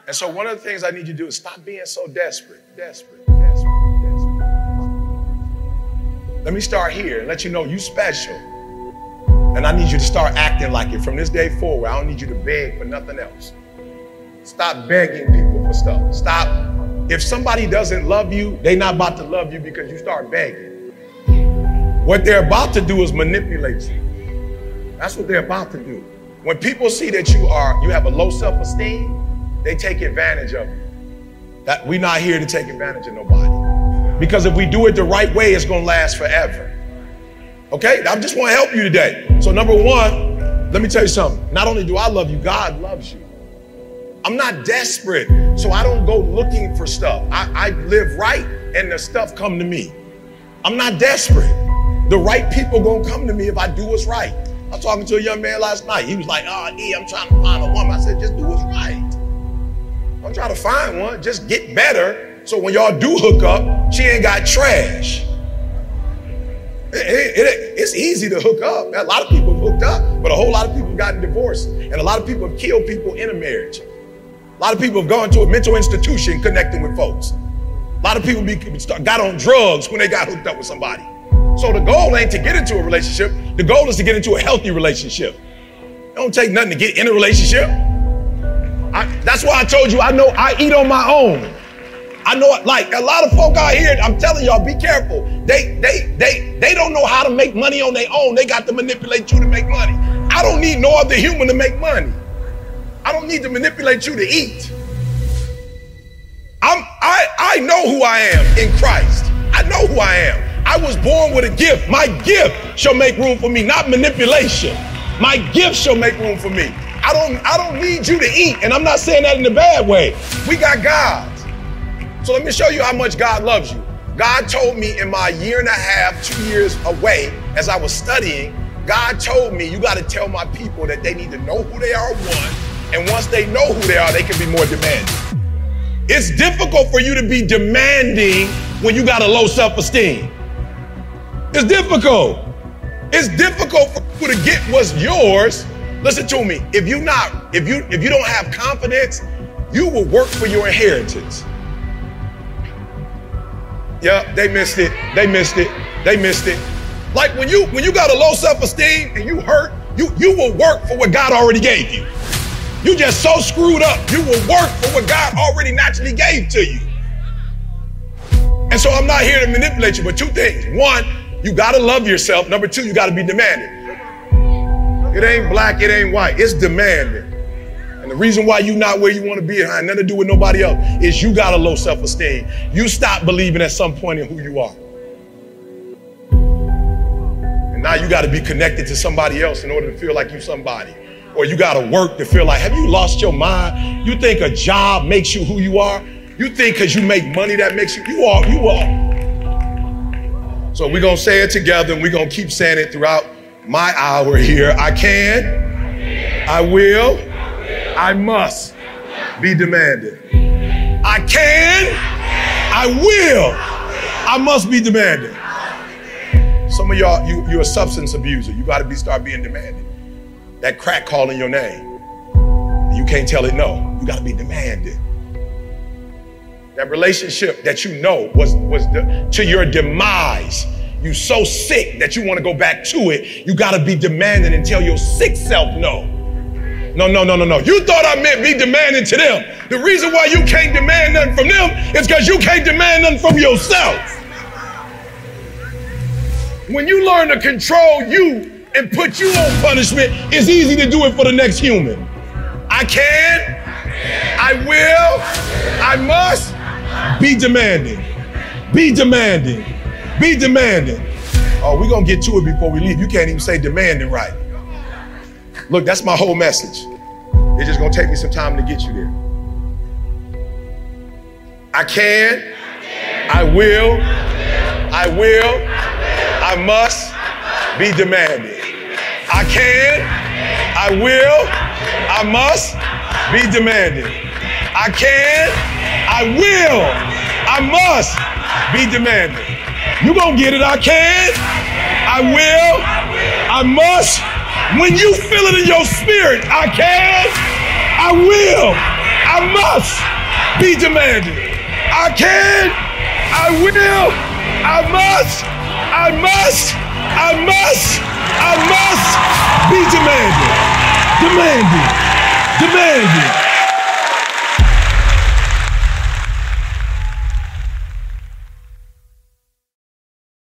And so one of the things I need you to do is stop being so desperate. Let me start here and let you know you special. And I need you to start acting like it. From this day forward, I don't need you to beg for nothing else. Stop begging people for stuff. Stop. If somebody doesn't love you, they're not about to love you because you start begging. What they're about to do is manipulate you. That's what they're about to do. When people see that you have a low self-esteem, they take advantage of you. That we're not here to take advantage of nobody. Because if we do it the right way, it's gonna last forever. Okay, I just wanna help you today. So number one, let me tell you something. Not only do I love you, God loves you. I'm not desperate, so I don't go looking for stuff. I live right and the stuff come to me. I'm not desperate. The right people gonna come to me if I do what's right. I was talking to a young man last night. He was like, I'm trying to find a woman. I said, just do what's right. Don't try to find one, just get better. So when y'all do hook up, she ain't got trash. It's easy to hook up. A lot of people have hooked up, but a whole lot of people have gotten divorced. And a lot of people have killed people in a marriage. A lot of people have gone to a mental institution connecting with folks. A lot of people got on drugs when they got hooked up with somebody. So the goal ain't to get into a relationship. The goal is to get into a healthy relationship. It don't take nothing to get in a relationship. That's why I told you, I know I eat on my own. I know, like a lot of folk out here, I'm telling y'all, be careful. They don't know how to make money on their own. They got to manipulate you to make money. I don't need no other human to make money. I don't need to manipulate you to eat. I know who I am in Christ. I know who I am. I was born with a gift. My gift shall make room for me, not manipulation. My gift shall make room for me. I don't need you to eat, and I'm not saying that in a bad way. We got God. So let me show you how much God loves you. God told me in my 1.5 years, 2 years away, as I was studying, God told me, you got to tell my people that they need to know who they are, one, and once they know who they are, they can be more demanding. It's difficult for you to be demanding when you got a low self-esteem. It's difficult. It's difficult for you to get what's yours. Listen to me. If you don't have confidence, you will work for your inheritance. Yeah, they missed it. They missed it. They missed it. Like when you got a low self-esteem and you hurt, you will work for what God already gave you. You just so screwed up. You will work for what God already naturally gave to you. And so I'm not here to manipulate you, but two things. One, you gotta love yourself. Number two, you gotta be demanding. It ain't black, it ain't white, it's demanding. And the reason why you're not where you want to be, it had nothing to do with nobody else, is you got a low self-esteem. You stop believing at some point in who you are. And now you got to be connected to somebody else in order to feel like you somebody. Or you got to work to feel like, have you lost your mind? You think a job makes you who you are? You think because you make money that makes you are. So we're going to say it together, and we're going to keep saying it throughout my hour here. I can, I will, I must be demanding. I can, I will, I must be demanding. Some of y'all, you're a substance abuser. You got to start being demanding. That crack calling your name, you can't tell it no. You got to be demanding. That relationship that you know was to your demise. You so sick that you want to go back to it. You got to be demanding and tell your sick self no. No. You thought I meant be demanding to them. The reason why you can't demand nothing from them is because you can't demand nothing from yourself. When you learn to control you and put you on punishment, it's easy to do it for the next human. I can, I will, I must be demanding. Be demanding. Be demanding. Oh, we're going to get to it before we leave. You can't even say demanding right. Look, that's my whole message. It's just going to take me some time to get you there. I can, I will, I must be demanding. I can, I will, I must be demanding. I can, I will, I must be demanding. You gonna get it. I can, I will, I must. When you feel it in your spirit, I can, I will, I must be demanding. I can, I will, I must be demanding. Demanding.